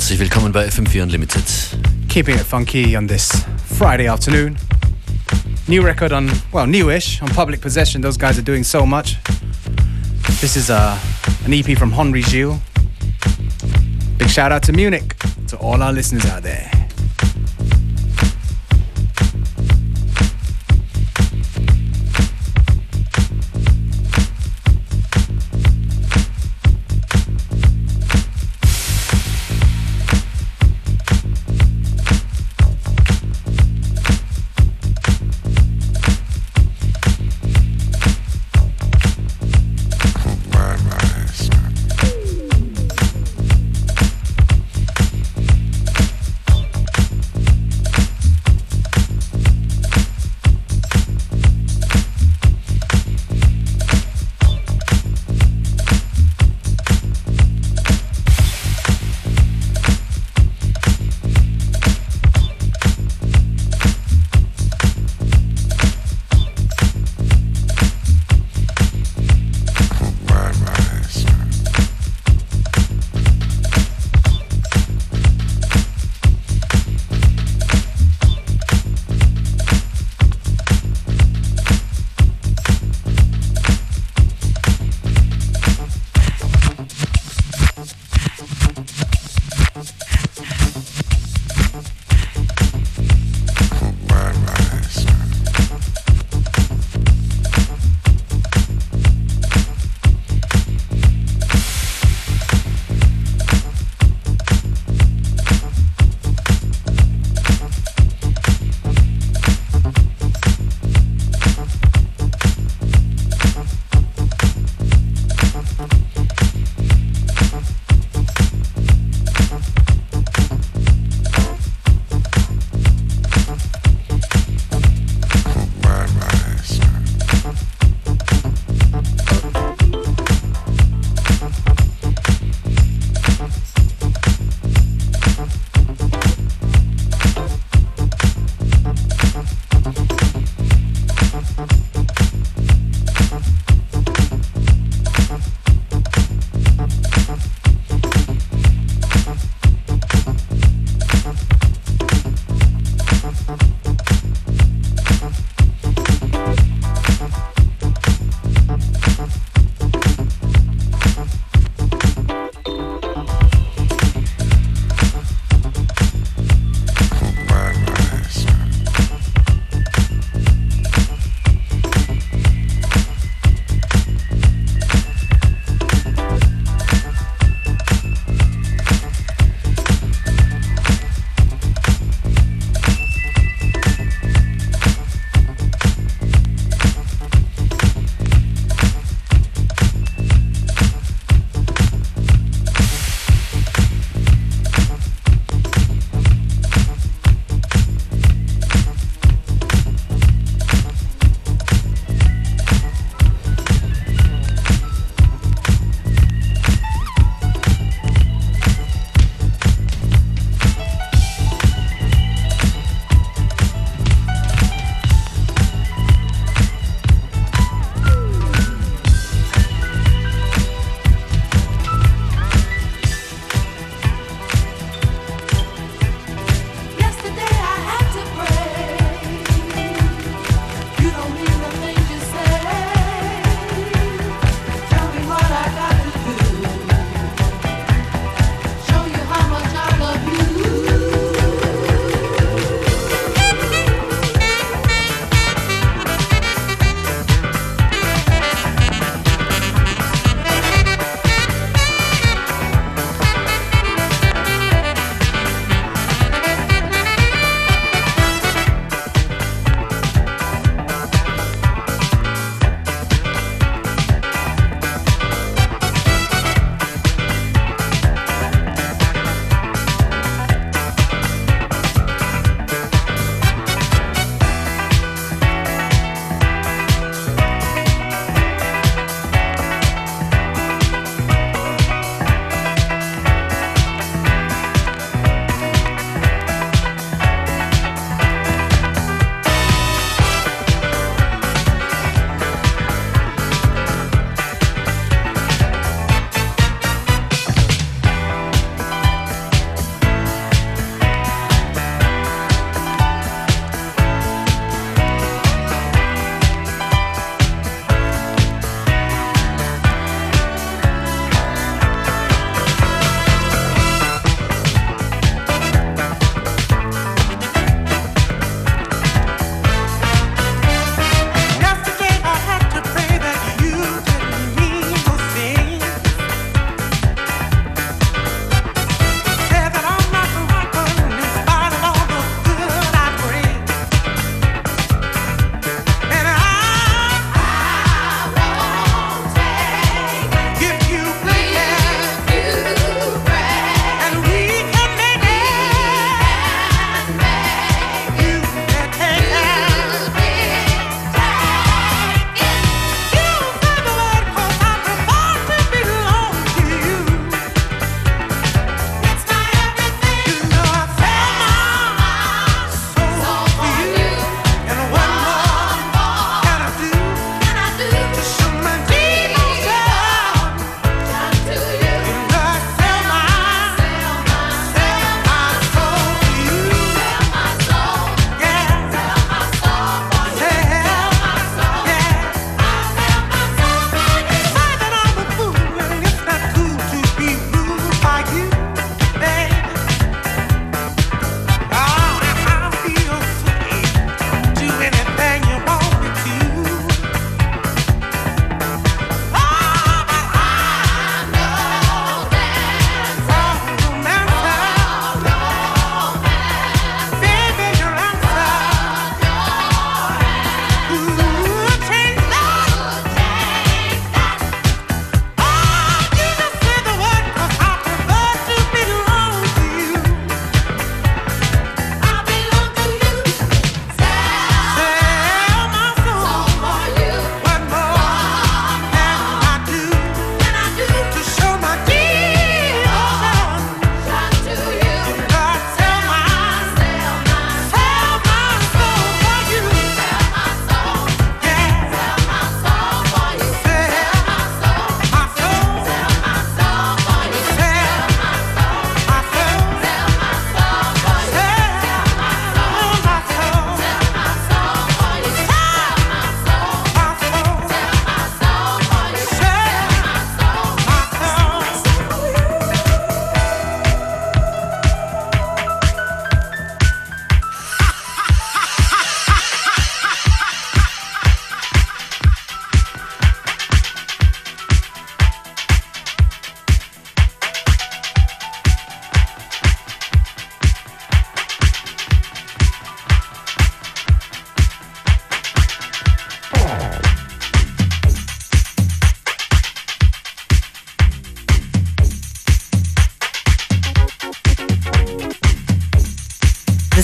Herzlich willkommen bei FM4 Unlimited. Keeping it funky on this Friday afternoon. New record on, well, newish, on Public Possession. Those guys are doing so much. This is an EP from Henri Gilles. Big shout out to Munich, to all our listeners out there.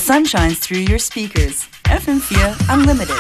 sun shines through your speakers. FM4 Unlimited.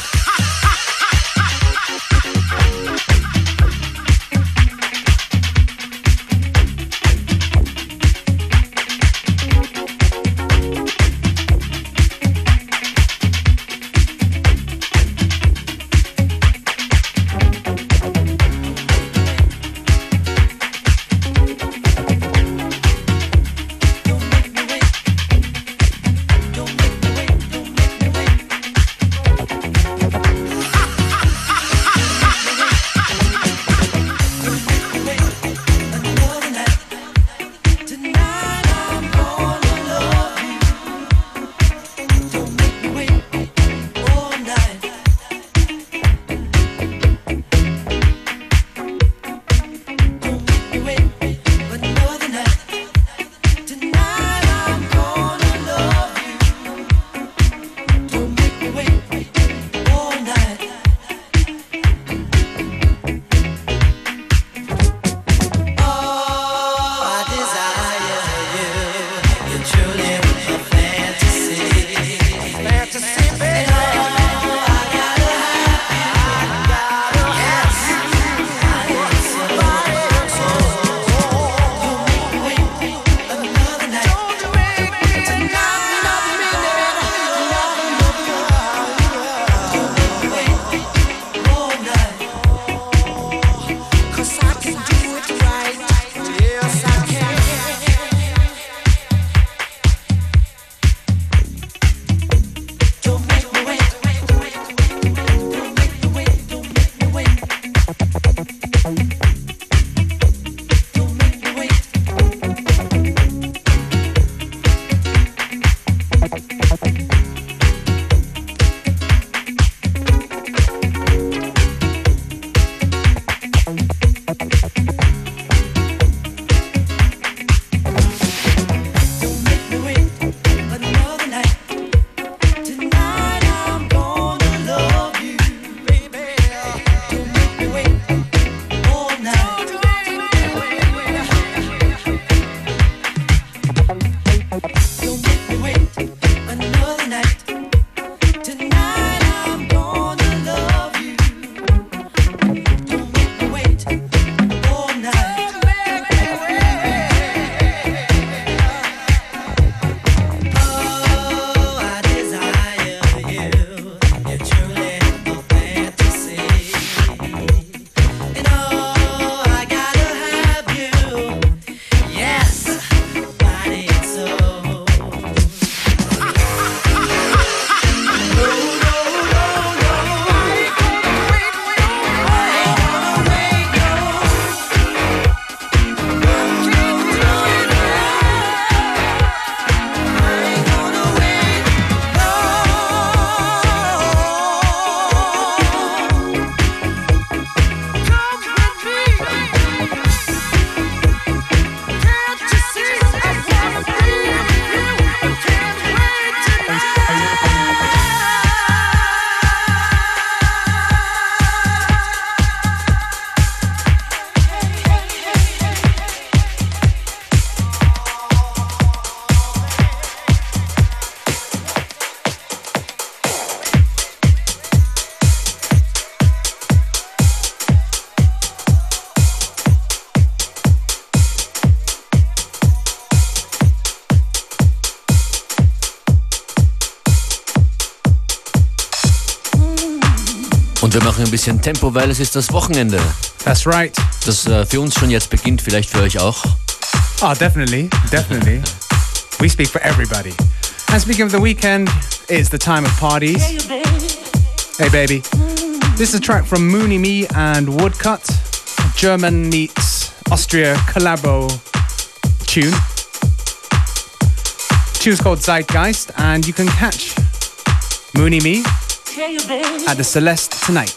Und wir machen ein bisschen Tempo, weil es ist das Wochenende. That's right. Das für uns schon jetzt beginnt, vielleicht für euch auch. Oh, definitely. We speak for everybody. And speaking of the weekend, it's the time of parties. Hey, baby. This is a track from Mooney Me and Woodcut. German meets Austria collabo tune. Tune's called Zeitgeist, and you can catch Mooney Me at the Celeste tonight.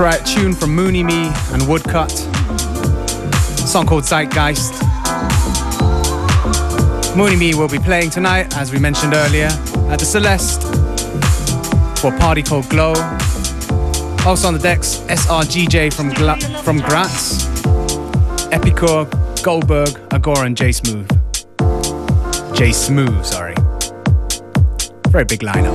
Tune from Mooney Me and Woodcut. A song called Zeitgeist. Mooney Me will be playing tonight, as we mentioned earlier, at the Celeste for a party called Glow. Also on the decks, SRGJ from Graz, Epicure, Goldberg, Agora and J Smooth. Sorry. Very big lineup.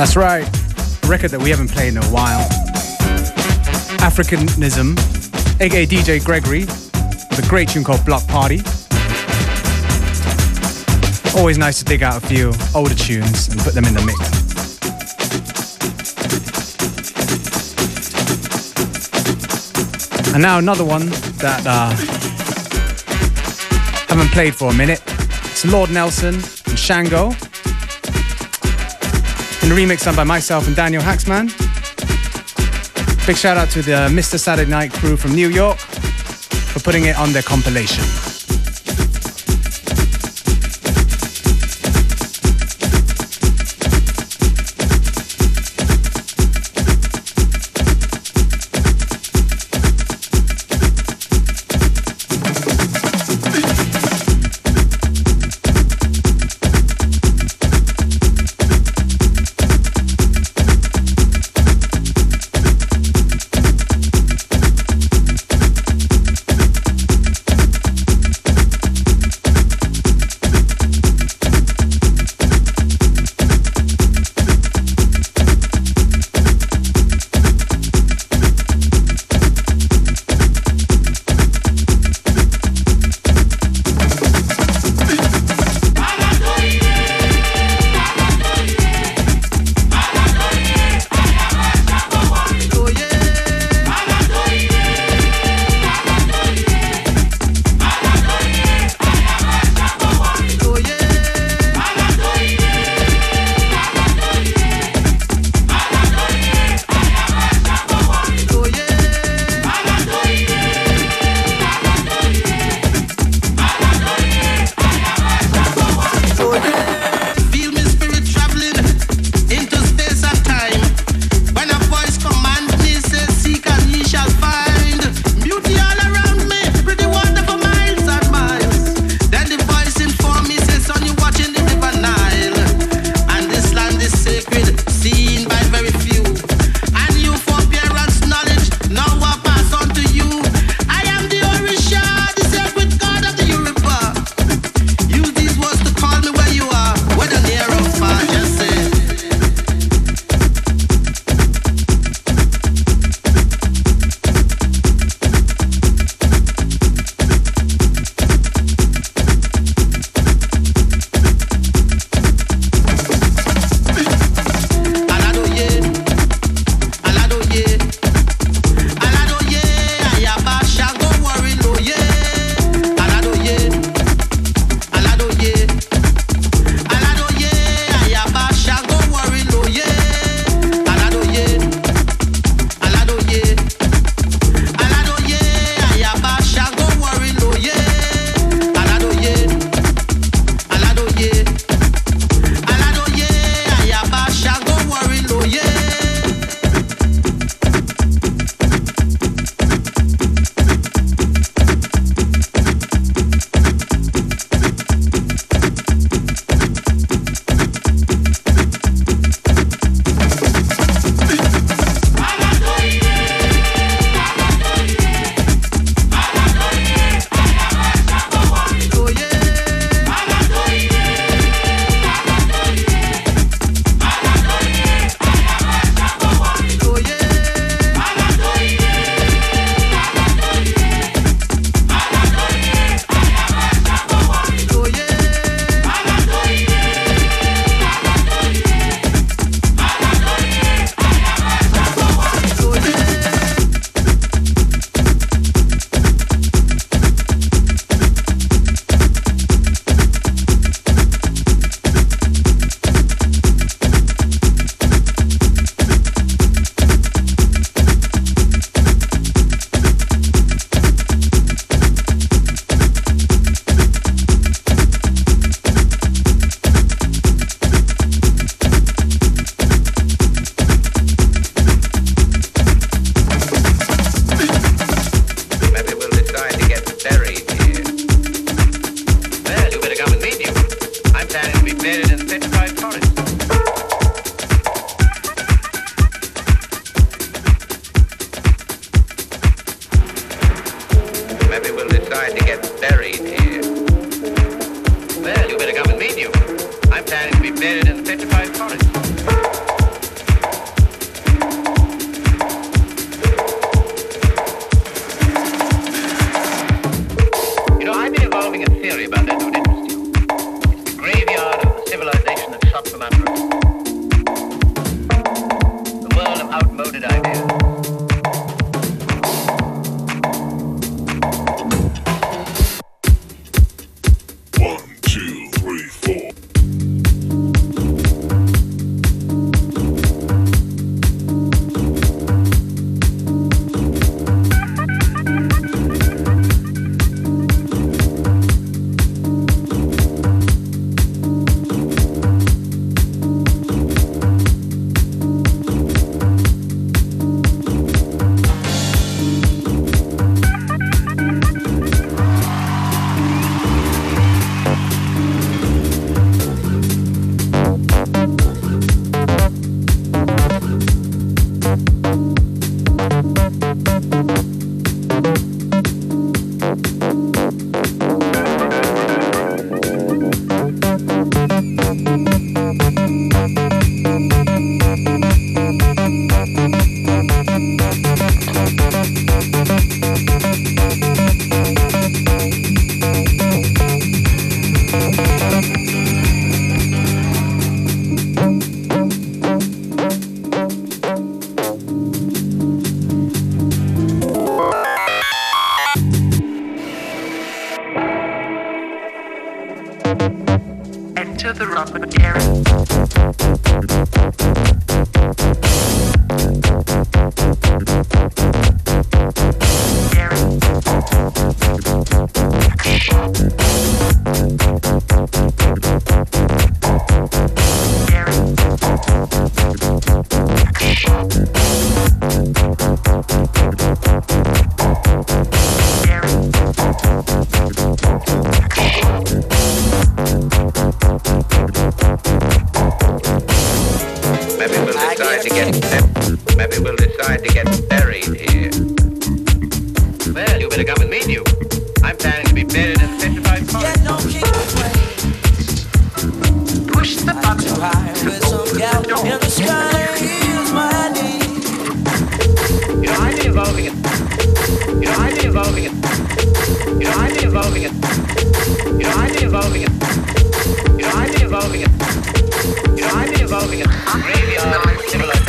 That's right, a record that we haven't played in a while. Africanism, aka DJ Gregory, with a great tune called Block Party. Always nice to dig out a few older tunes and put them in the mix. And now another one that haven't played for a minute. It's Lord Nelson and Shango, in a remix done by myself and Daniel Haxman. Big shout out to the Mr. Saturday Night crew from New York for putting it on their compilation. decide to get buried here. Well, you better come and meet you. I'm planning to be buried in the petrified forest. Maybe we'll decide to get buried here. Well, you better come with me, Duke. I'm planning to be buried in 55 parts. Get no king away. Push the button high with some gal in the sky is my need. You know, I've been evolving it. You know, I've been evolving it. You know, I've been evolving it. You know, I've been evolving it. You know, I've been evolving it. You know, I've been evolving it. Graveyard civilization.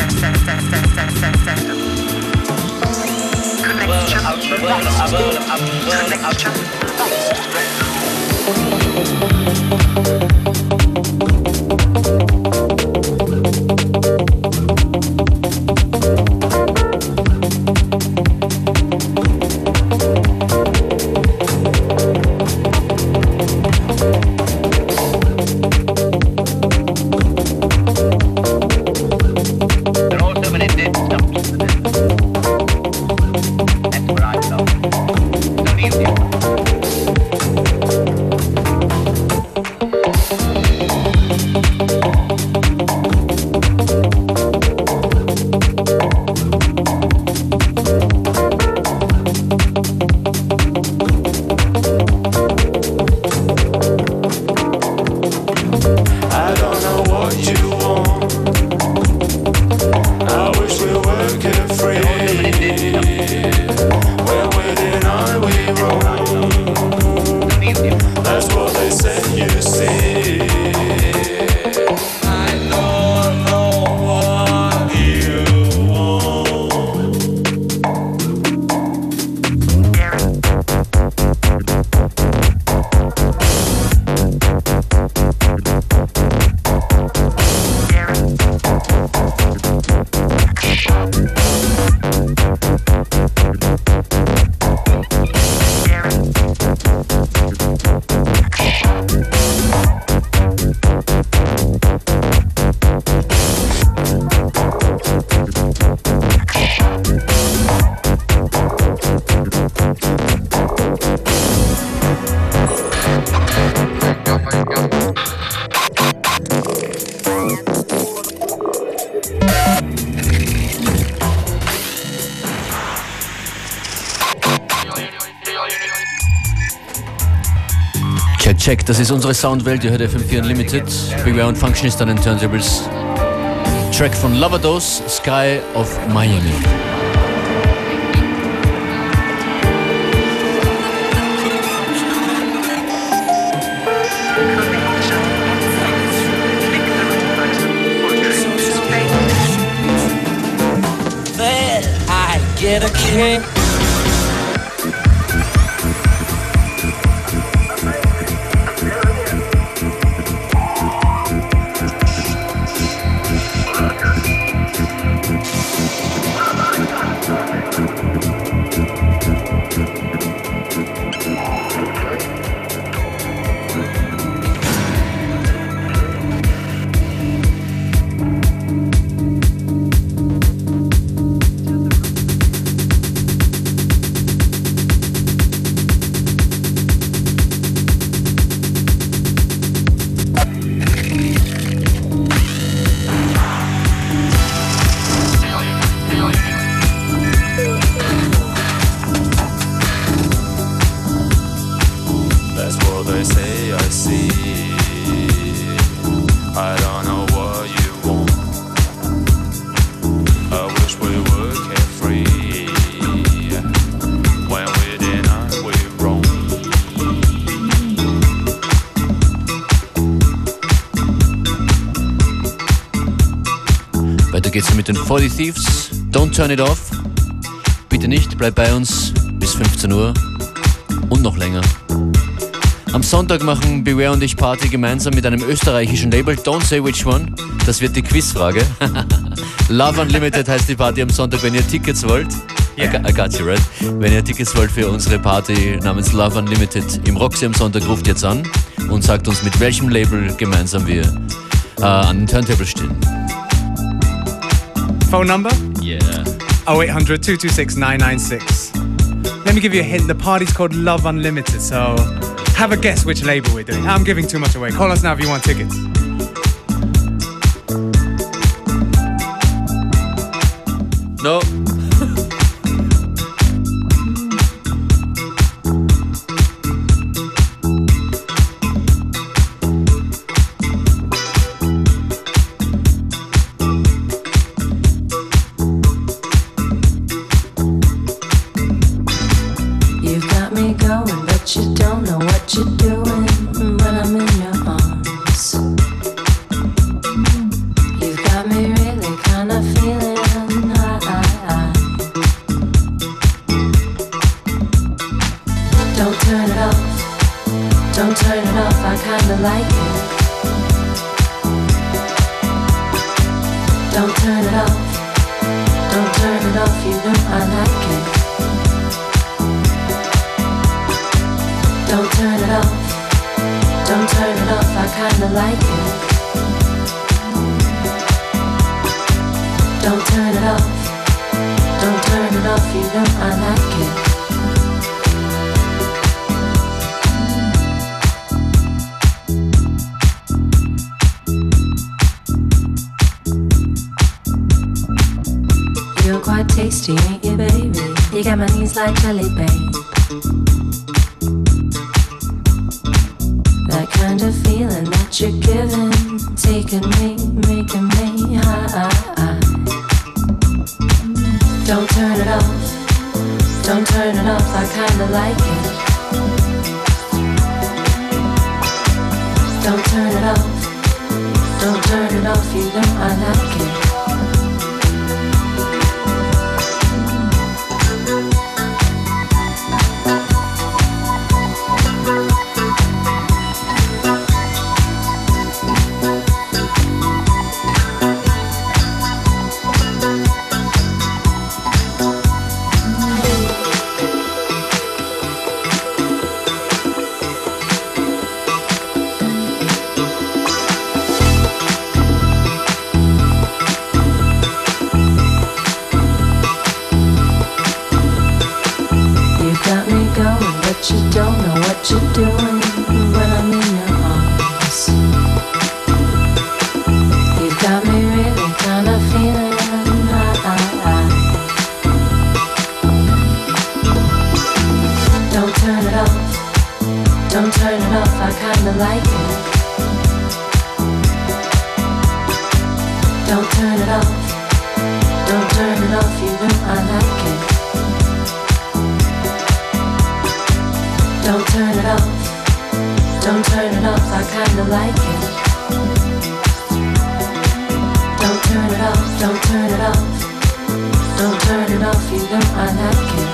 Check, das ist unsere Soundwelt, ihr hört FM4 Unlimited. Beware und Functionist an den Turntables. Track von Lavados, Sky of Miami. Then I get a kick. Weiter geht's mit den 40 Thieves. Don't turn it off. Bitte nicht, bleib bei uns bis 15 Uhr und noch länger. Am Sonntag machen Beware und ich Party gemeinsam mit einem österreichischen Label. Don't say which one. Das wird die Quizfrage. Love Unlimited heißt die Party am Sonntag, wenn ihr Tickets wollt. Yeah. I got you right. Wenn ihr Tickets wollt für unsere Party namens Love Unlimited im Roxy am Sonntag, ruft jetzt an und sagt uns, mit welchem Label gemeinsam wir an den Turntable stehen. phone number? Yeah. 0800 226 996. Let me give you a hint. The party's called Love Unlimited, so have a guess which label we're doing. I'm giving too much away. Call us now if you want tickets. No. You've got me going, but you don't know what you're doing when I'm in your arms. You've got me really kind of feeling high. Don't turn it off, don't turn it off, I kinda like it. Don't turn it off, don't turn it off, you know I like it. Don't turn it off, don't turn it off, I kinda like it. Don't turn it off, don't turn it off, you know I like it. You're quite tasty, ain't you, baby? You got my knees like jelly, babe. That kind of feeling that you're giving, taking me, making me high. Don't turn it off, don't turn it off, I kinda like it. Don't turn it off, don't turn it off, you know I like it. You don't know what you're doing when I'm in your arms. You've got me really kind of feeling high. Don't turn it off, don't turn it off, I kinda like it. Don't turn it off, don't turn it off, you know I like it. Don't turn it off, don't turn it off, I kinda like it. Don't turn it off, don't turn it off, don't turn it off, you know I like it.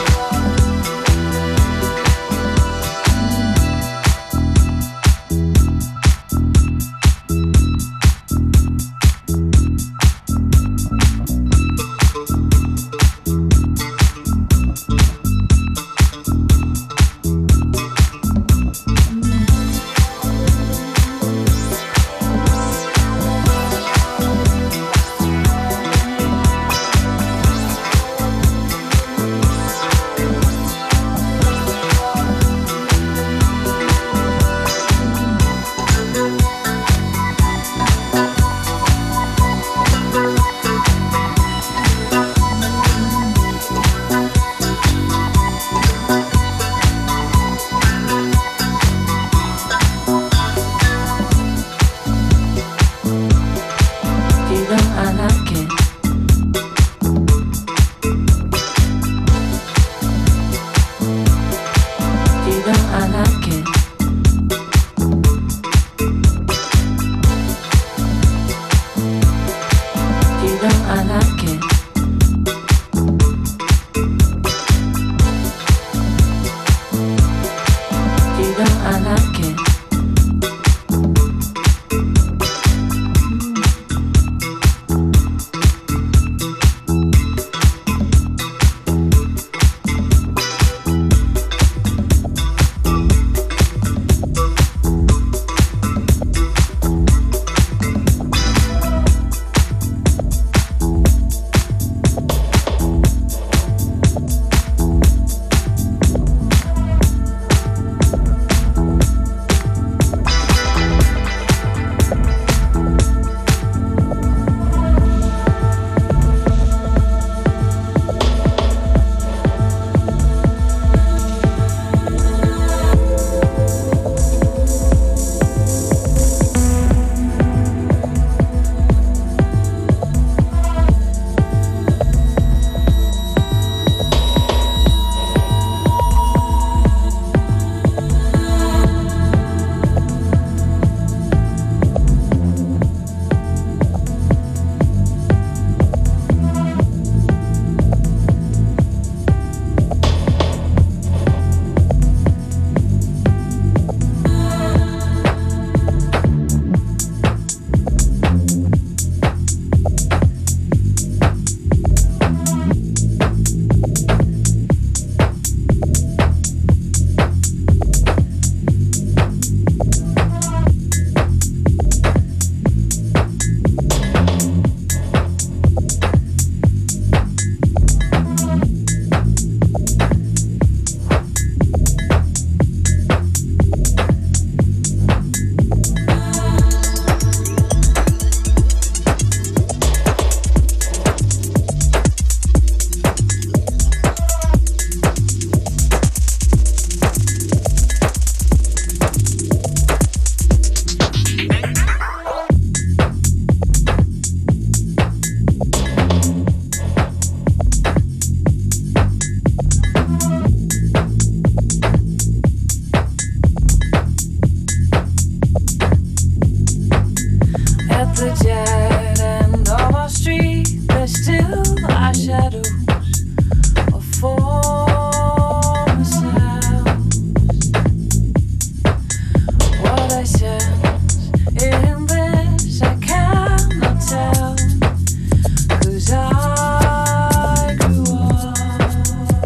shadows of former sounds. What I sense in this I cannot tell, 'cause I grew up.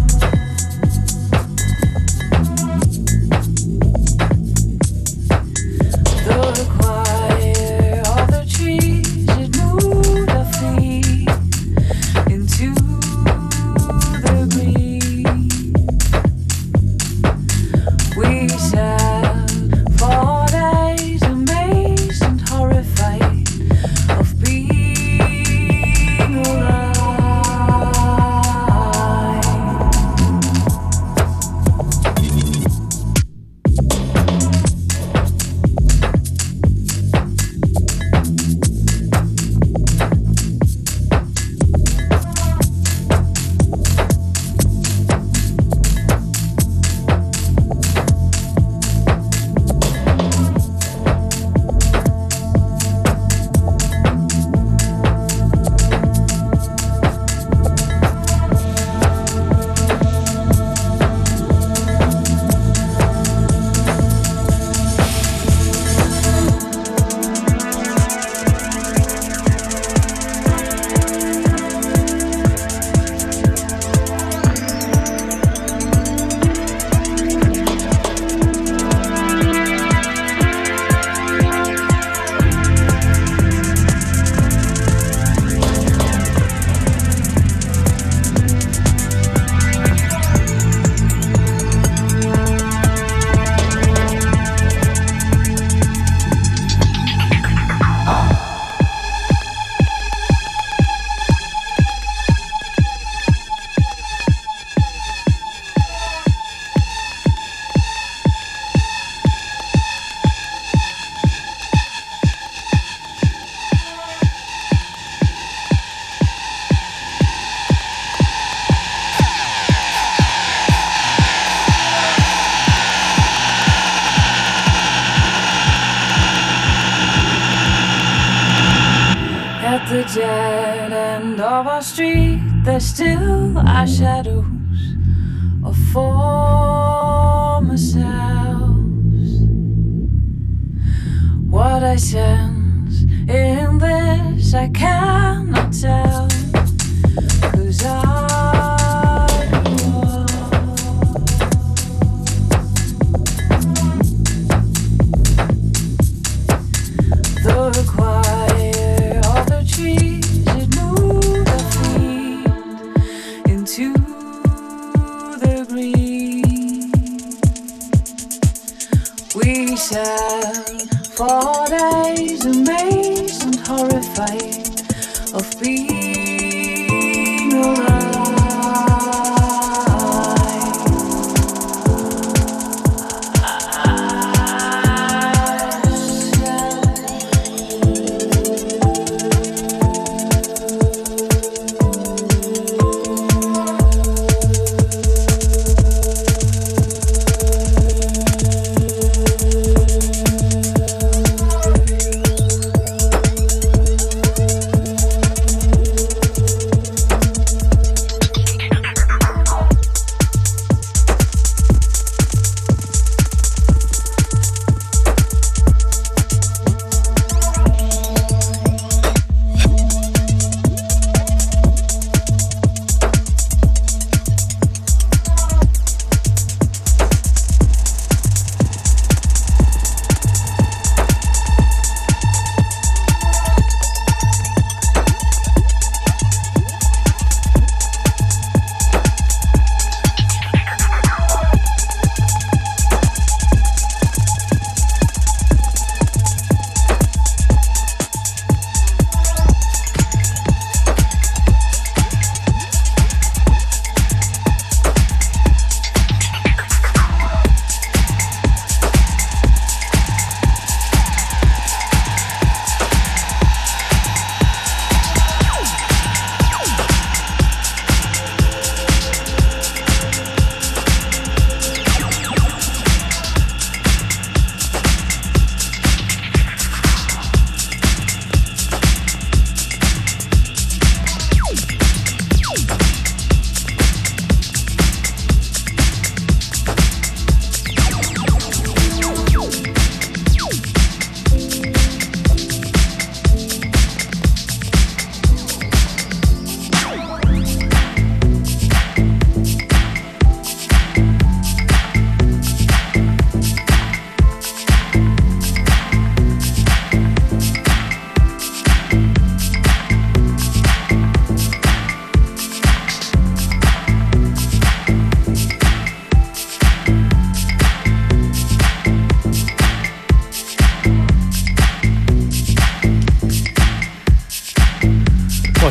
The choir of the trees, it moved our feet into the green. We sat for days, amazed and horrified of being alive. At the dead end of our street, there still are shadows of former selves. What I sense in this I cannot tell, 'cause I grew up. The choir of the trees, it moved our feet into the green. We sat for days, amazed and horrified of being alive.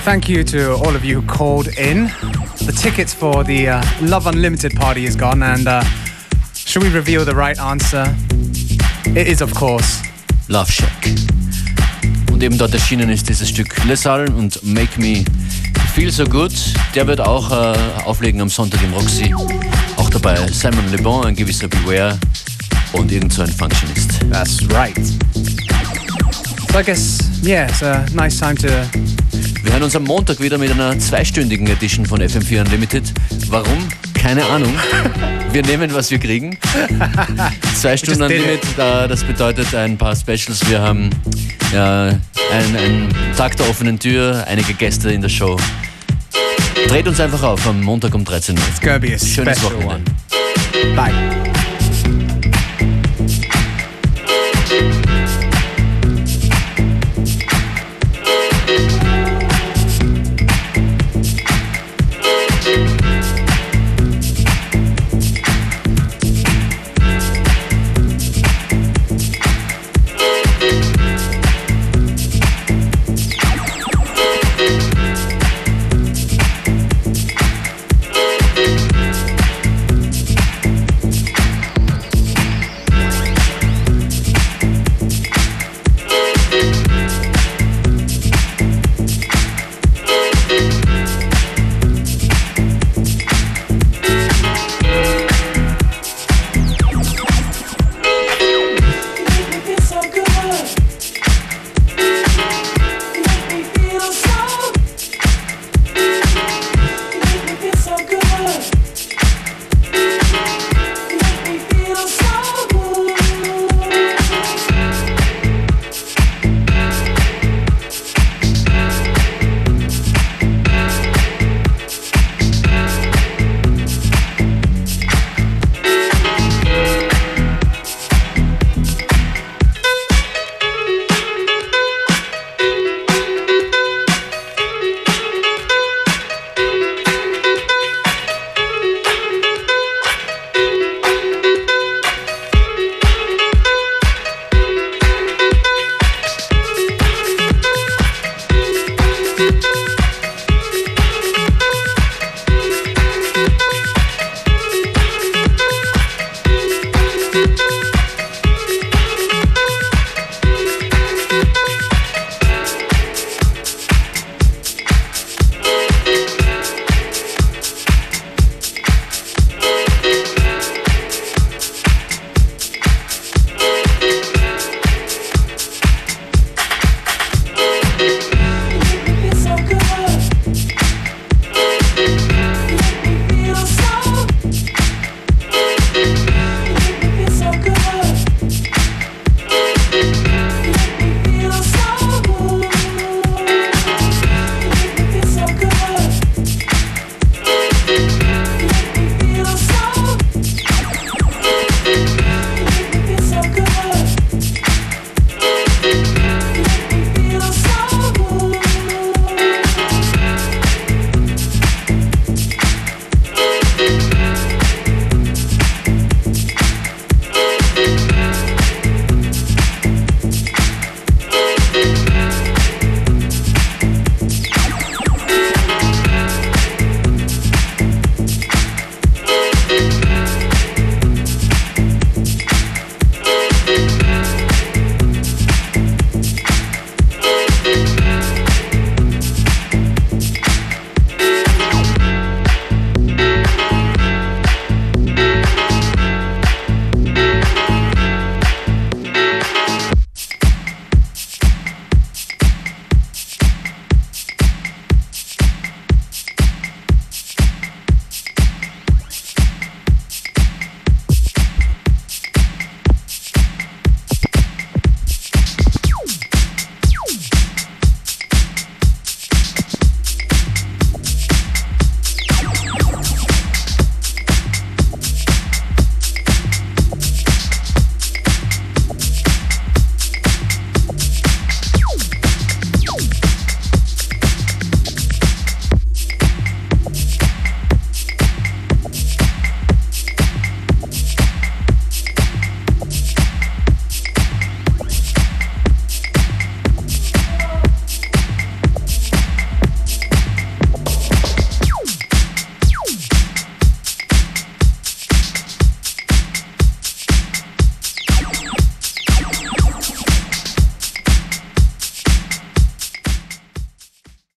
thank you to all of you who called in. The tickets for the Love Unlimited party is gone, and should we reveal the right answer? It is, of course, Love Shack. Und eben dort erschienen ist dieses Stück Les Halles und Make Me Feel So Good. Der wird auch auflegen am Sonntag im Roxy. Auch dabei Simon Le Bon, ein gewisser Beware und irgend so ein Functionist. That's right. So I guess, yeah, it's a nice time to... Wir hören uns am Montag wieder mit einer 2-stündigen Edition von FM4 Unlimited. Warum? Keine Ahnung. Wir nehmen, was wir kriegen. 2 Stunden Unlimited, das bedeutet ein paar Specials. Wir haben einen Tag der offenen Tür, einige Gäste in der Show. Dreht uns einfach auf am Montag um 13 Uhr. It's gonna be a Schönes special Wochenende. one. Bye.